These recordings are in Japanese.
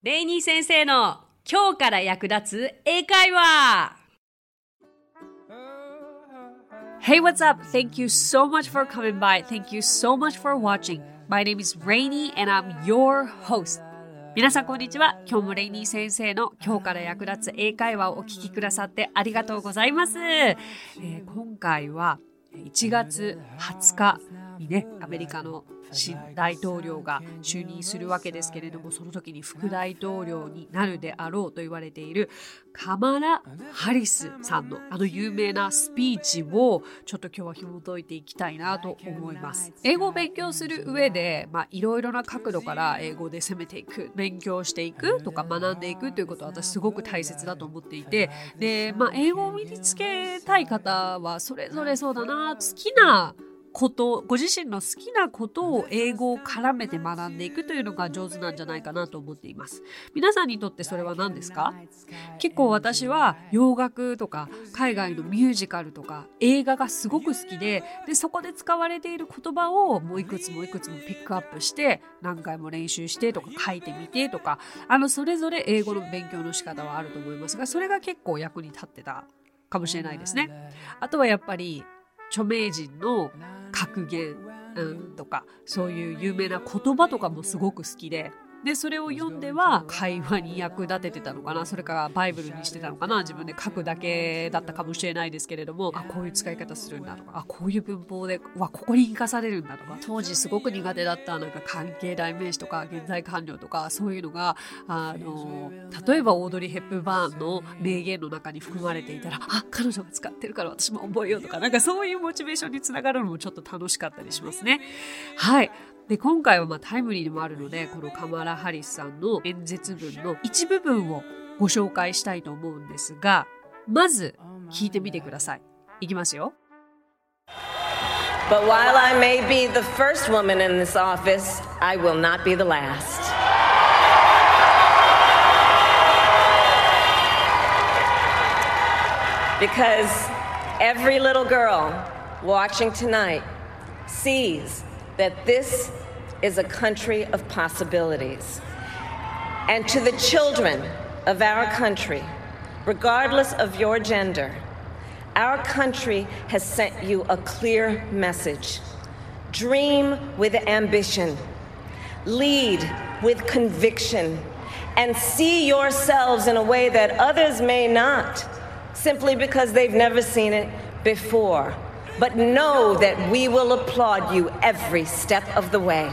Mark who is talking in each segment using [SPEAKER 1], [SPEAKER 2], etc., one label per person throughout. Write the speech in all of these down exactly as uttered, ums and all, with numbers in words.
[SPEAKER 1] レイニー先生の今日から役立つ英会話。 Hey, what's up? Thank you so much for coming by. Thank you so much for watching. My name is Rainy and I'm your host. 皆さんこんにちは。今日もレイニー先生の今日から役立つ英会話をお聞きくださってありがとうございます。えー、今回はいちがつはつかにね、アメリカの新大統領が就任するわけですけれども、その時に副大統領になるであろうと言われているカマラ・ハリスさんのあの有名なスピーチをちょっと今日は紐解いていきたいなと思います。英語を勉強する上で、まあ、いろいろな角度から英語で攻めていく、勉強していくとか学んでいくということは私すごく大切だと思っていて、で、まあ、英語を身につけたい方はそれぞれそうだな、好きなこと、ご自身の好きなことを英語を絡めて学んでいくというのが上手なんじゃないかなと思っています。皆さんにとってそれは何ですか？結構私は洋楽とか海外のミュージカルとか映画がすごく好きで、でそこで使われている言葉をもういくつもいくつもピックアップして何回も練習してとか書いてみてとか、あのそれぞれ英語の勉強の仕方はあると思いますが、それが結構役に立ってたかもしれないですね。あとはやっぱり著名人の格言、うん、とかそういう有名な言葉とかもすごく好きで、でそれを読んでは会話に役立ててたのかな、それからバイブルにしてたのかな、自分で書くだけだったかもしれないですけれども、あこういう使い方するんだとか、あこういう文法でわここに生かされるんだとか、当時すごく苦手だったなんか関係代名詞とか現在完了とかそういうのがあの例えばオードリー・ヘップバーンの名言の中に含まれていたら、あ彼女が使ってるから私も覚えようとか、なんかそういうモチベーションにつながるのもちょっと楽しかったりしますね。はい。で今回はまあタイムリーでもあるので、このカマラ・ハリスさんの演説文の一部分をご紹介したいと思うんですが、まず聞いてみてください。いきますよ。
[SPEAKER 2] But while I may be the first woman in this office, I will not be the last. Because every little girl watching tonight sees that this is a country of possibilities. And to the children of our country, regardless of your gender, our country has sent you a clear message. Dream with ambition, lead with conviction, and see yourselves in a way that others may not, simply because they've never seen it before.But know that we will applaud you every step of the way.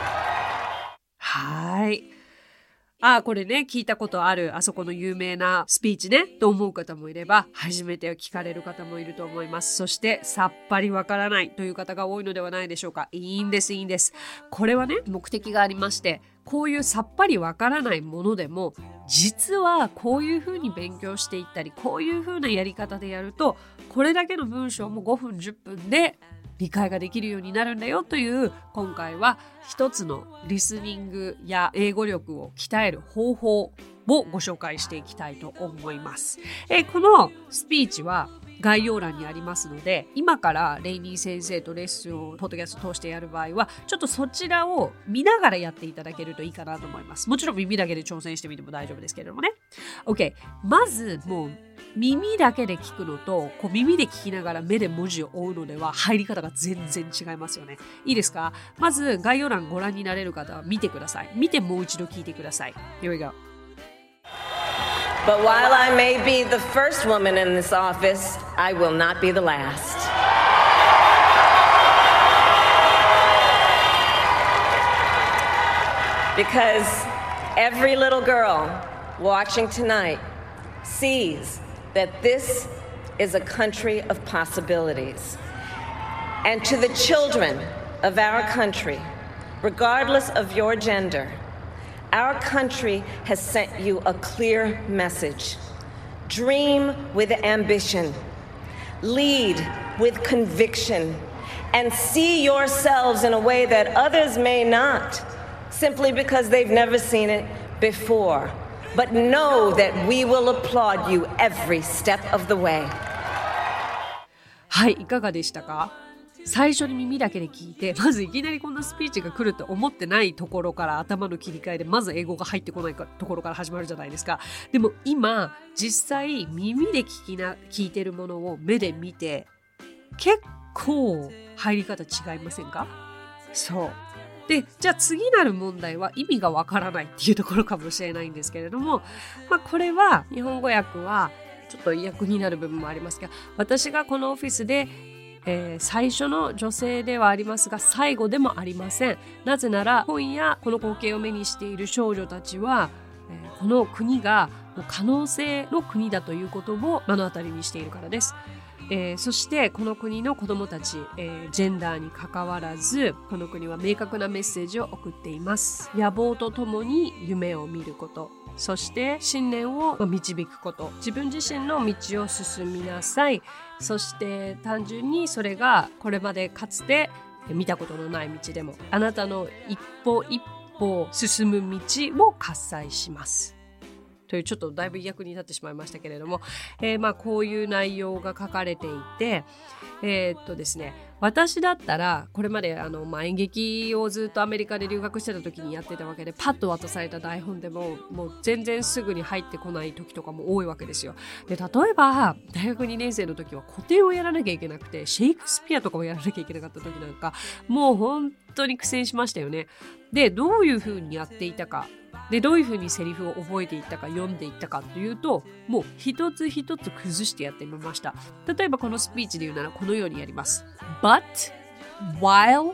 [SPEAKER 1] はい。あ、これね、聞いたことある、あそこの有名なスピーチね、と思う方もいれば、初めて聞かれる方もいると思います。そして、さっぱりわからないという方が多いのではないでしょうか。いいんです、いいんです。これはね、目的がありまして、こういうさっぱりわからないものでも、実はこういうふうに勉強していったり、こういうふうなやり方でやると、これだけの文章もごふんじゅっぷんで理解ができるようになるんだよという、今回は一つのリスニングや英語力を鍛える方法をご紹介していきたいと思います。えー、このスピーチは概要欄にありますので、今からレイニー先生とレッスンをポッドキャスト通してやる場合はちょっとそちらを見ながらやっていただけるといいかなと思います。もちろん耳だけで挑戦してみても大丈夫ですけれどもね。 OK、 まずもう耳だけで聞くのとこう耳で聞きながら目で文字を追うのでは入り方が全然違いますよね。いいですか？まず概要欄ご覧になれる方は見てください。見てもう一度聞いてください。 Here we
[SPEAKER 2] go.But while I may be the first woman in this office, I will not be the last. Because every little girl watching tonight sees that this is a country of possibilities. And to the children of our country, regardless of your gender,Our country has sent you a clear message. Dream with ambition, lead with conviction, and see yourselves in a way that others may not, simply because they've never seen it before. But know that we will applaud you every step of the way.
[SPEAKER 1] はい、いかがでしたか？ 最初に耳だけで聞いて、まずいきなりこんなスピーチが来ると思ってないところから頭の切り替えで、まず英語が入ってこないところから始まるじゃないですか。でも今、実際耳で聞きな、聞いてるものを目で見て、結構入り方違いませんか？そう。で、じゃあ次なる問題は意味がわからないっていうところかもしれないんですけれども、まあこれは日本語訳はちょっと訳になる部分もありますが、私がこのオフィスで、えー、最初の女性ではありますが最後でもありません。なぜなら今夜この光景を目にしている少女たちは、えー、この国が可能性の国だということを目の当たりにしているからです。えー、そしてこの国の子どもたち、えー、ジェンダーに関わらずこの国は明確なメッセージを送っています。野望とともに夢を見ること、そして信念を導くこと、自分自身の道を進みなさい。そして単純にそれがこれまでかつて見たことのない道でもあなたの一歩一歩進む道を喝采しますという、ちょっとだいぶ役に立ってしまいましたけれども、えー、まあこういう内容が書かれていて、えー、っとですね私だったらこれまであの、まあ、演劇をずっとアメリカで留学してた時にやってたわけで、パッと渡された台本でももう全然すぐに入ってこない時とかも多いわけですよ。で、例えば大学にねん生の時は古典をやらなきゃいけなくて、シェイクスピアとかもやらなきゃいけなかった時なんかもう本当に苦戦しましたよね。で、どういう風にやっていたかで、どういう風にセリフを覚えていったか読んでいったかというと、もう一つ一つ崩してやってみました。例えばこのスピーチで言うならこのようにやります。But while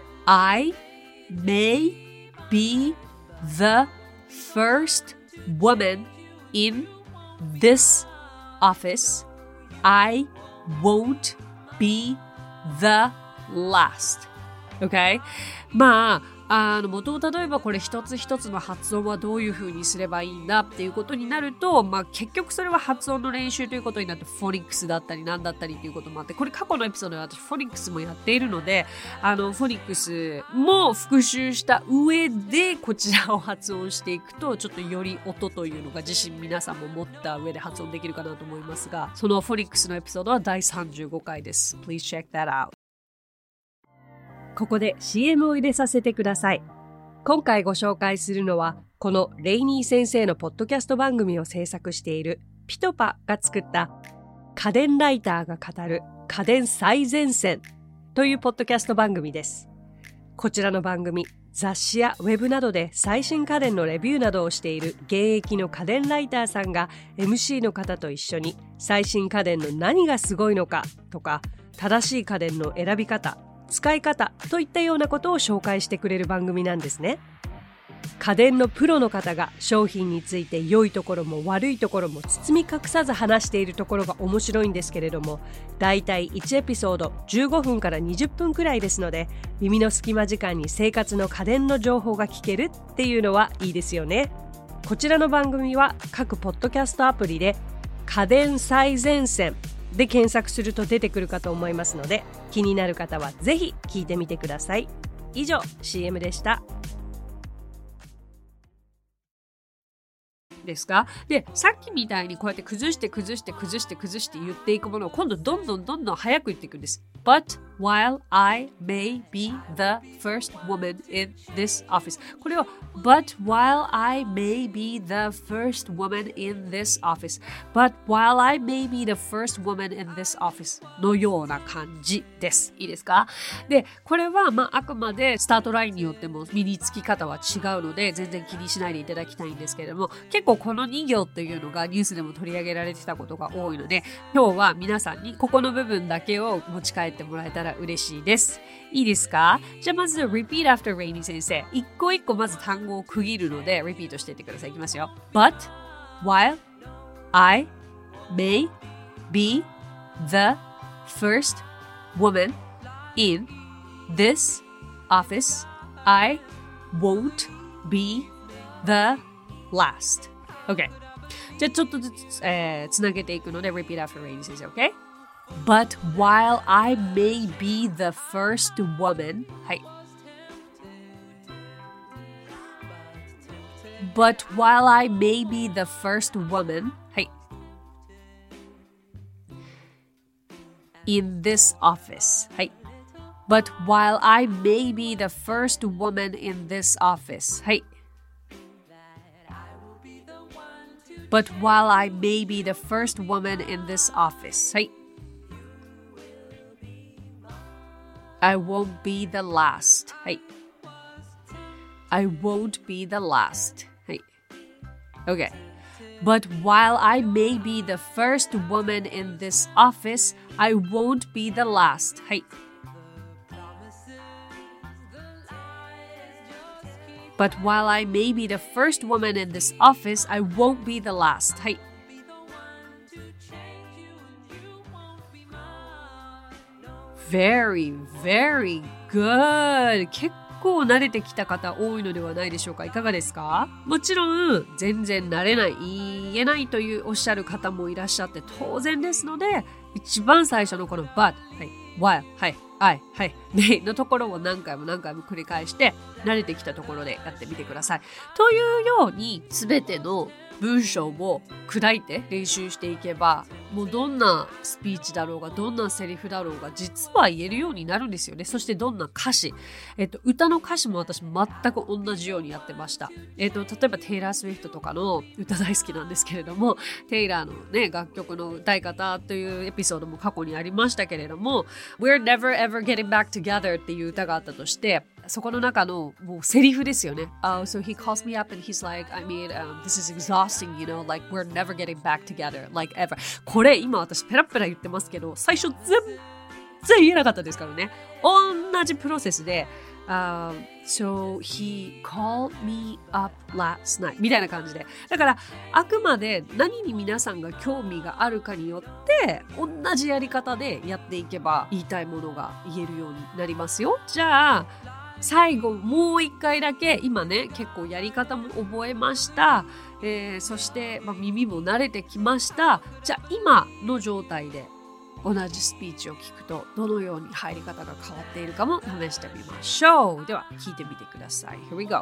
[SPEAKER 1] I may be the first woman in this office, I won't be the last. Okay? まああの元を例えばこれ一つ一つの発音はどういう風にすればいいんだっていうことになると、まあ結局それは発音の練習ということになって、フォニックスだったりなんだったりっていうこともあって、これ過去のエピソードで私フォニックスもやっているので、あのフォニックスも復習した上でこちらを発音していくと、ちょっとより音というのが自信皆さんも持った上で発音できるかなと思いますが、そのフォニックスのエピソードはだいさんじゅうごかいです。Please check that out。ここで シーエム を入れさせてください。今回ご紹介するのは、このレイニー先生のポッドキャスト番組を制作しているピトパが作った家電ライターが語る家電最前線というポッドキャスト番組です。こちらの番組、雑誌やウェブなどで最新家電のレビューなどをしている現役の家電ライターさんが エムシー の方と一緒に最新家電の何がすごいのかとか、正しい家電の選び方、使い方といったようなことを紹介してくれる番組なんですね。家電のプロの方が商品について良いところも悪いところも包み隠さず話しているところが面白いんですけれども、だいたいいちエピソードじゅうごふんからにじゅっぷんくらいですので、耳の隙間時間に生活の家電の情報が聞けるっていうのはいいですよね。こちらの番組は各ポッドキャストアプリで家電最前線で検索すると出てくるかと思いますので、気になる方はぜひ聞いてみてください。以上 シーエム でした。ですか？で、さっきみたいにこうやって崩して崩して崩して崩して言っていくものを今度どんどんどんどん早く言っていくんです。But while I may be the first woman in this office. これを But while I may be the first woman in this office. But while I may be the first woman in this office のような感じです。いいですか？で、これはまああくまでスタートラインによっても身につき方は違うので全然気にしないでいただきたいんですけれども、結構このに行っていうのがニュースでも取り上げられてたことが多いので、今日は皆さんにここの部分だけを持ち帰ってもらえたら嬉しいです。いいですか？じゃあまず Repeat after Rainy 先生、一個一個まず単語を区切るのでリピートしていってください。いきますよ。 But while I may be the first woman in this office, I won't be the last. OK。 じゃあちょっとずつ、えー、つなげていくので Repeat after Rainy 先生。 OK。 But while I may be the first woman、 はい。 But while I may be the first woman、 はい。 In this office、 はい。 But while I may be the first woman in this office はい But while I may be the first woman in this office はい I won't be the last はい I won't be the last はい Okay But while I may be the first woman in this office, I won't be the last. はい。But while I may be the first woman in this office, I won't be the last. はい。Very, very good. 結構慣れてきた方多いのではないでしょうか。いかがですか？もちろん全然慣れない、言えないというおっしゃる方もいらっしゃって当然ですので、一番最初のこの but、はい、while、はい、I、はい、may のところを何回も何回も繰り返して慣れてきたところでやってみてください。というように全ての文章を砕いて練習していけば、もうどんなスピーチだろうがどんなセリフだろうが実は言えるようになるんですよね。そしてどんな歌詞、えっと歌の歌詞も私全く同じようにやってました。えっと例えばテイラー・スウィフトとかの歌大好きなんですけれども、テイラーのね楽曲の歌い方というエピソードも過去にありましたけれども、We're never ever getting back together っていう歌があったとして、そこの中のもうセリフですよね。Oh, so he calls me up and he's like, I mean, um, this is exhausting, you know, like we're never getting back together, like ever. これ今私ペラペラ言ってますけど、最初全然言えなかったですからね。同じプロセスで、um, so he called me up last night みたいな感じで。だからあくまで何に皆さんが興味があるかによって同じやり方でやっていけば言いたいものが言えるようになりますよ。じゃあ最後もう一回だけ今ね結構やり方も覚えました、えー、そして、まあ、耳も慣れてきました。じゃあ今の状態で同じスピーチを聞くとどのように入り方が変わっているかも試してみましょう。では聞いてみてください。 Here we go.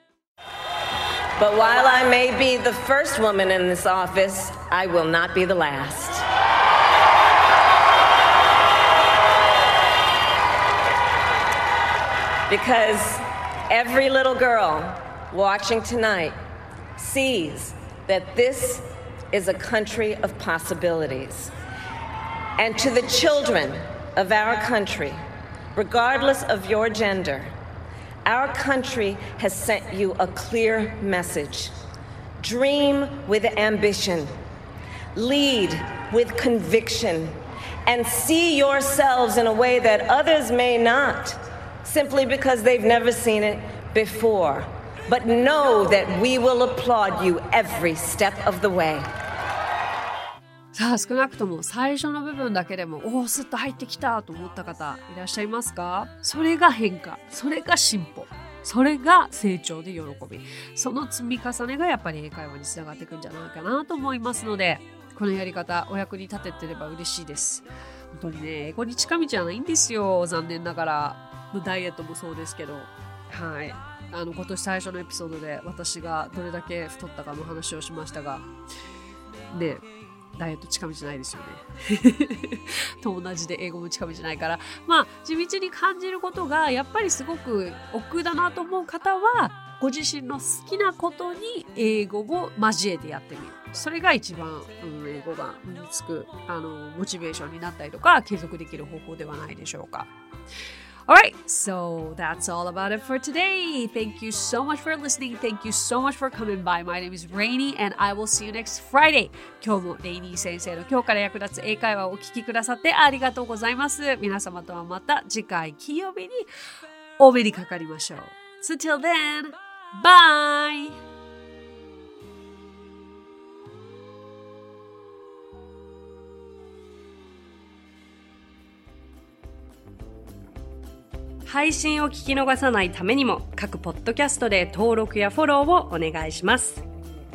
[SPEAKER 2] But while I may be the first woman in this office, I will not be the last. Because every little girl watching tonight sees that this is a country of possibilities. And to the children of our country, regardless of your gender, our country has sent you a clear message. Dream with ambition, lead with conviction, and see yourselves in a way that others may not.Simply because they've never seen it before. But know that we will applaud you every step of the way.
[SPEAKER 1] さあ少なくとも最初の部分だけでもおおスッと入ってきたと思った方いらっしゃいますか？それが変化、それが進歩、それが成長で喜び、その積み重ねがやっぱり英会話につながっていくんじゃないかなと思いますので、このやり方お役に立ててれば嬉しいです。本当にね英語に近道じゃないんですよ、残念ながら。ダイエットもそうですけど、はい、あの今年最初のエピソードで私がどれだけ太ったかの話をしましたが、ね、ダイエット近道ないですよねと同じで英語も近道ないから、まあ地道に感じることがやっぱりすごく億劫だなと思う方はご自身の好きなことに英語を交えてやってみる。それが一番、うん、英語が身につくあのモチベーションになったりとか継続できる方法ではないでしょうか。Alright, so that's all about it for today. Thank you so much for listening. Thank you so much for coming by. My name is Rainy and I will see you next Friday. 今日もレイニー先生の今日から役立つ英会話をお聞きくださってありがとうございます。皆様とはまた次回金曜日にお目にかかりましょう。So till then, bye! 配信を聞き逃さないためにも各ポッドキャストで登録やフォローをお願いします。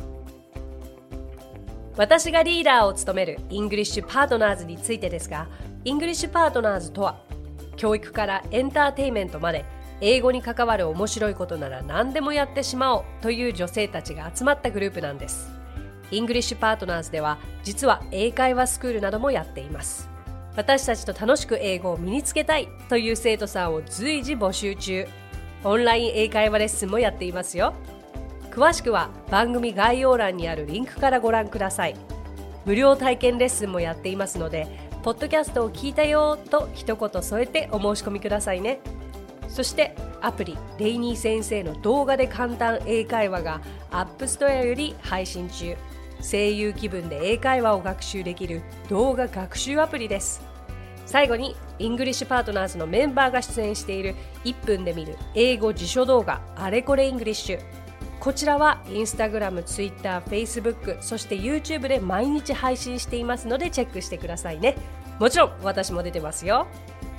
[SPEAKER 1] 私がリーダーを務めるイングリッシュパートナーズについてですが、イングリッシュパートナーズとは教育からエンターテインメントまで英語に関わる面白いことなら何でもやってしまおうという女性たちが集まったグループなんです。イングリッシュパートナーズでは実は英会話スクールなどもやっています。
[SPEAKER 3] 私たちと楽しく英語を身につけたいという生徒さんを随時募集中。オンライン英会話レッスンもやっていますよ。詳しくは番組概要欄にあるリンクからご覧ください。無料体験レッスンもやっていますので、ポッドキャストを聞いたよと一言添えてお申し込みくださいね。そしてアプリレイニー先生の動画で簡単英会話がアップストアより配信中。声優気分で英会話を学習できる動画学習アプリです。最後にイングリッシュパートナーズのメンバーが出演しているいっぷんで見る英語辞書動画あれこれイングリッシュ。こちらはインスタグラム、ツイッター、フェイスブック、そして YouTube で毎日配信していますのでチェックしてくださいね。もちろん私も出てますよ。